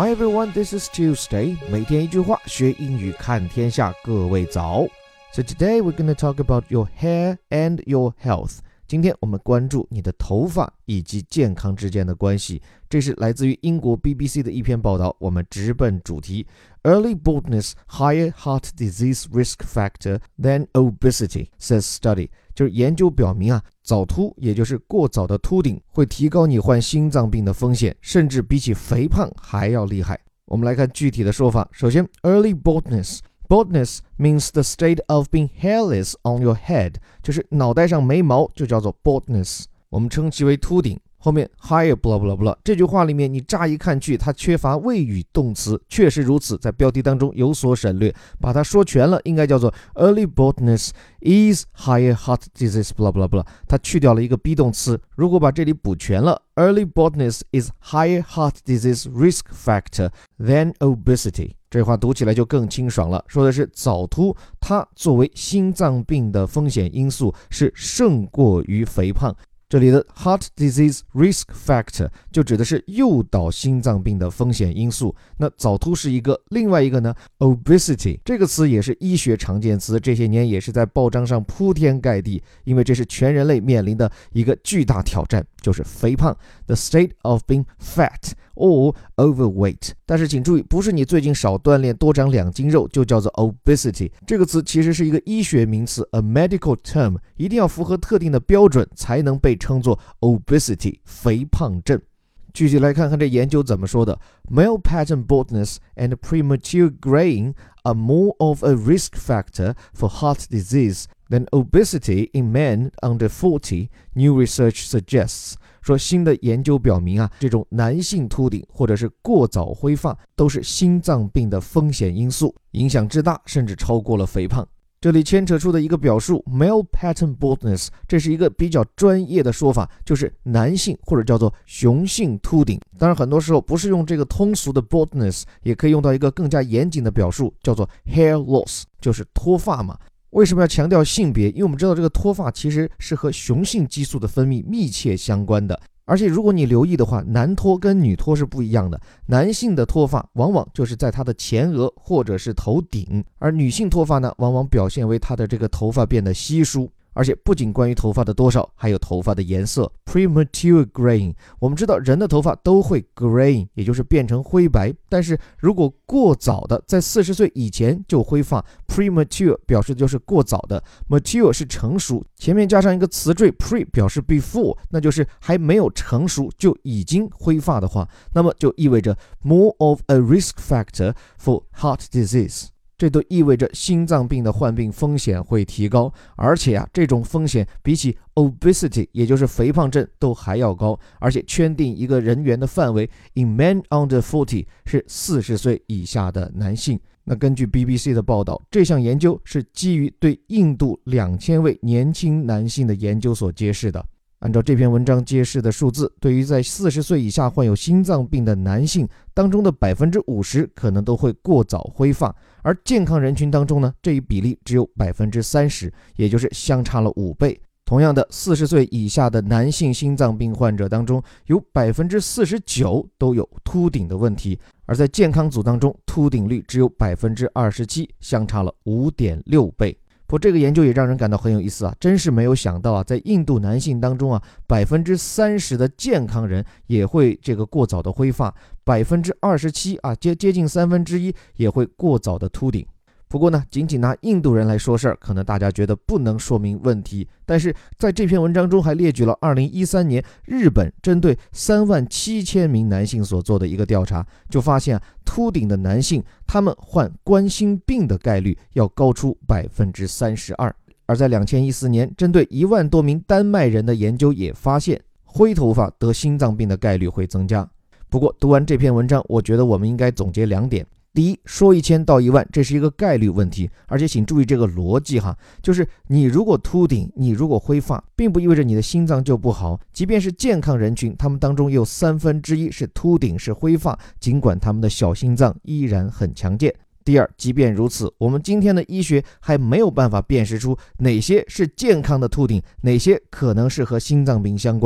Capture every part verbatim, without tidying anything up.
Hi everyone, this is Tuesday. 每天一句话，学英语看天下。各位早。So today we're going to talk about your hair and your health. 今天我们关注你的头发以及健康之间的关系。这是来自于英国 B B C 的一篇报道。我们直奔主题。Early baldness higher heart disease risk factor than obesity, says study. 就是研究表明啊，早秃也就是过早的秃顶会提高你患心脏病的风险，甚至比起肥胖还要厉害。我们来看具体的说法。首先 early baldness Baldness means the state of being hairless on your head, 就是脑袋上没毛就叫做 baldness， 我们称其为秃顶。后面 higher blah blah blah 这句话里面你乍一看去它缺乏谓语动词，确实如此，在标题当中有所省略，把它说全了应该叫做 early baldness is higher heart disease blah blah blah， 它去掉了一个 be 动词，如果把这里补全了 early baldness is higher heart disease risk factor than obesity， 这话读起来就更清爽了，说的是早秃它作为心脏病的风险因素是胜过于肥胖。这里的 heart disease risk factor 就指的是诱导心脏病的风险因素，那早秃是一个，另外一个呢 obesity 这个词也是医学常见词，这些年也是在报章上铺天盖地，因为这是全人类面临的一个巨大挑战，就是肥胖 the state of being fat or overweight。 但是请注意，不是你最近少锻炼多长两斤肉就叫做 obesity， 这个词其实是一个医学名词 a medical term， 一定要符合特定的标准才能被称作 obesity 肥胖症。具体来看看这研究怎么说的。 Male pattern baldness and premature graying are more of a risk factor for heart disease than obesity in men under forty, new research suggests。 说新的研究表明啊，这种男性秃顶或者是过早灰发都是心脏病的风险因素，影响之大甚至超过了肥胖。这里牵扯出的一个表述 male pattern baldness， 这是一个比较专业的说法，就是男性或者叫做雄性秃顶。当然很多时候不是用这个通俗的 baldness， 也可以用到一个更加严谨的表述，叫做 hair loss， 就是脱发嘛。为什么要强调性别？因为我们知道这个脱发其实是和雄性激素的分泌密切相关的，而且如果你留意的话，男脱跟女脱是不一样的。男性的脱发往往就是在他的前额或者是头顶，而女性脱发呢，往往表现为他的这个头发变得稀疏。而且不仅关于头发的多少，还有头发的颜色 premature graying。 我们知道人的头发都会 graying， 也就是变成灰白，但是如果过早的在四十岁以前就灰发， premature 表示的就是过早的， mature 是成熟，前面加上一个词缀 pre 表示 before， 那就是还没有成熟就已经灰发的话，那么就意味着 more of a risk factor for heart disease，这都意味着心脏病的患病风险会提高，而且啊，这种风险比起 obesity 也就是肥胖症都还要高，而且圈定一个人员的范围 in men under forty 是四十岁以下的男性。那根据 B B C 的报道，这项研究是基于对印度两千位年轻男性的研究所揭示的。按照这篇文章揭示的数字，对于在四十岁以下患有心脏病的男性当中的 百分之五十 可能都会过早灰发，而健康人群当中呢，这一比例只有 百分之三十， 也就是相差了五倍。同样的，四十岁以下的男性心脏病患者当中有 百分之四十九 都有秃顶的问题，而在健康组当中秃顶率只有 百分之二十七， 相差了 五点六倍。不过这个研究也让人感到很有意思啊，真是没有想到啊，在印度男性当中啊 百分之三十 的健康人也会这个过早的灰发， 百分之二十七 啊接接近三分之一也会过早的秃顶。不过呢，仅仅拿印度人来说事儿，可能大家觉得不能说明问题，但是在这篇文章中还列举了二零一三年日本针对三万七千名男性所做的一个调查，就发现啊，秃顶的男性他们患冠心病的概率要高出 百分之三十二。 而在二零一四年针对一万多名丹麦人的研究也发现，灰头发得心脏病的概率会增加。不过读完这篇文章，我觉得我们应该总结两点。第一，说一千道一万，这是一个概率问题，而且请注意这个逻辑哈，就是你如果秃顶，你如果灰发，并不意味着你的心脏就不好，即便是健康人群，他们当中有三分之一是秃顶是灰发，尽管他们的小心脏依然很强健。第二，即便如此，我们今天的医学还没有办法辨识出哪些是健康的秃顶，哪些可能是和心脏病相关。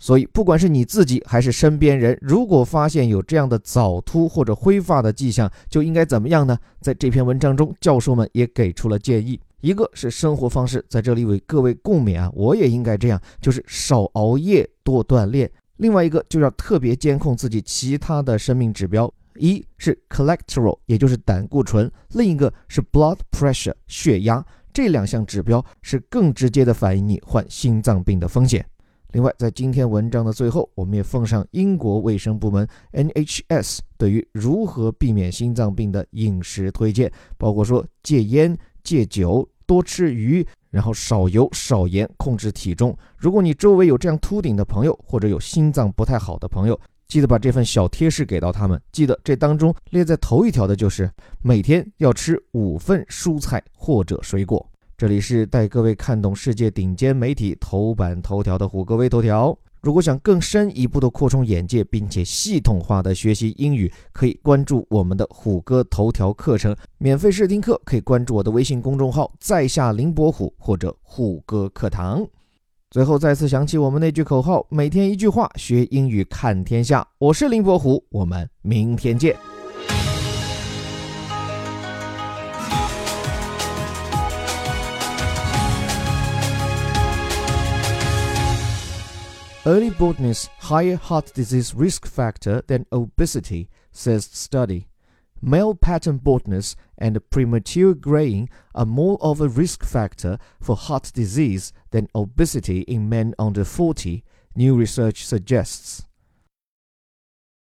所以不管是你自己还是身边人，如果发现有这样的早秃或者灰发的迹象，就应该怎么样呢？在这篇文章中，教授们也给出了建议。一个是生活方式，在这里为各位共勉啊，我也应该这样，就是少熬夜，多锻炼。另外一个就要特别监控自己其他的生命指标，一是 cholesterol， 也就是胆固醇，另一个是 blood pressure， 血压。这两项指标是更直接的反映你患心脏病的风险。另外，在今天文章的最后，我们也奉上英国卫生部门 N H S 对于如何避免心脏病的饮食推荐，包括说戒烟、戒酒、多吃鱼，然后少油少盐，控制体重。如果你周围有这样秃顶的朋友，或者有心脏不太好的朋友，记得把这份小贴士给到他们。记得这当中列在头一条的就是每天要吃五份蔬菜或者水果。这里是带各位看懂世界顶尖媒体头版头条的虎哥微头条。如果想更深一步的扩充眼界，并且系统化的学习英语，可以关注我们的虎哥头条课程，免费试听课可以关注我的微信公众号在下林伯虎或者虎哥课堂。最后再次想起我们那句口号，每天一句话，学英语看天下。我是林伯虎，我们明天见。Early baldness higher heart disease risk factor than obesity, says study. Male pattern baldness and premature graying are more of a risk factor for heart disease than obesity in men under forty, new research suggests.